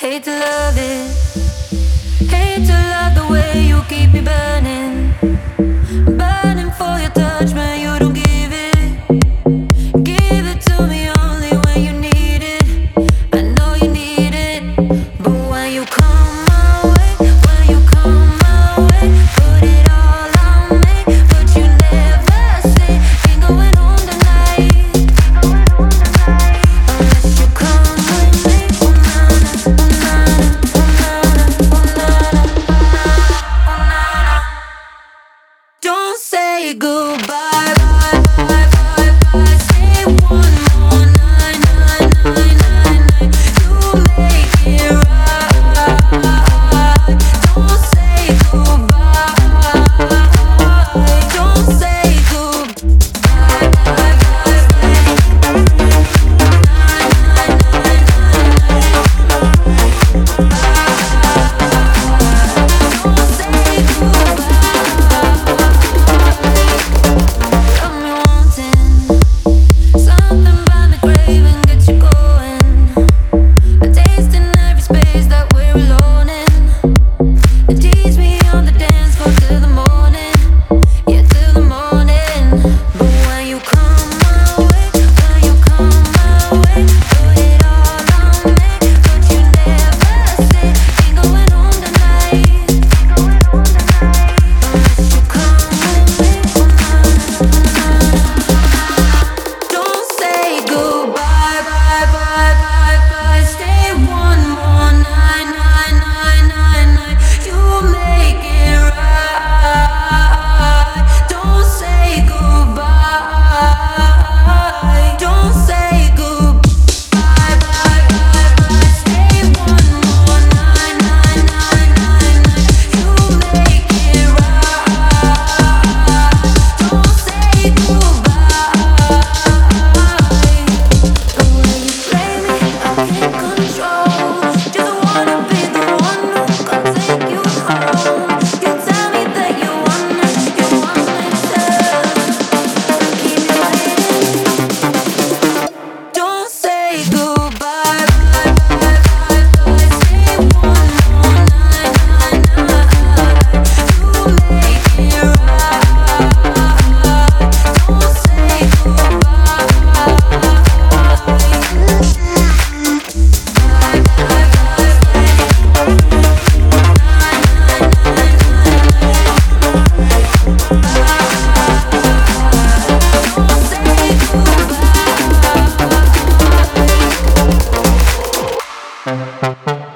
hate to love it, hate to love the way you keep me burning, burning for your touch, man. You don't give it to me only when you need it. I know you need it, but when you come my way, when you come my way, put it all on me, but you never say ain't going home tonight, unless you come with me. Don't say goodbye, bye, bye, bye, bye. Say one more night, night, night, night, night. You make it right. Don't say goodbye. Don't say goodbye, bye, bye, bye. Don't say goodbye. Got me wanting something by the grave and get you going. A taste in every space that we're alone in. And tease me on the dance floor till the morning, yeah, till the morning. But when you come my way, when you come my way, put it all on me, but you never say ain't going home tonight, unless you come with me. Don't say goodbye, bye, bye, bye, bye. Stay one more night, night, night, night, night. You make it right. Don't say goodbye. Don't say goodbye, bye, bye, bye. Stay one more night, night, night, night, night. You make it right. Don't say goodbye. The way you play me, I can't control. Just wanna be the one who can take you home. You tell me that you want me to, keep me waiting. Don't say goodbye, bye, bye, bye, bye. Say one more night, night, night. You make it right. Don't say goodbye. Don't say goodbye.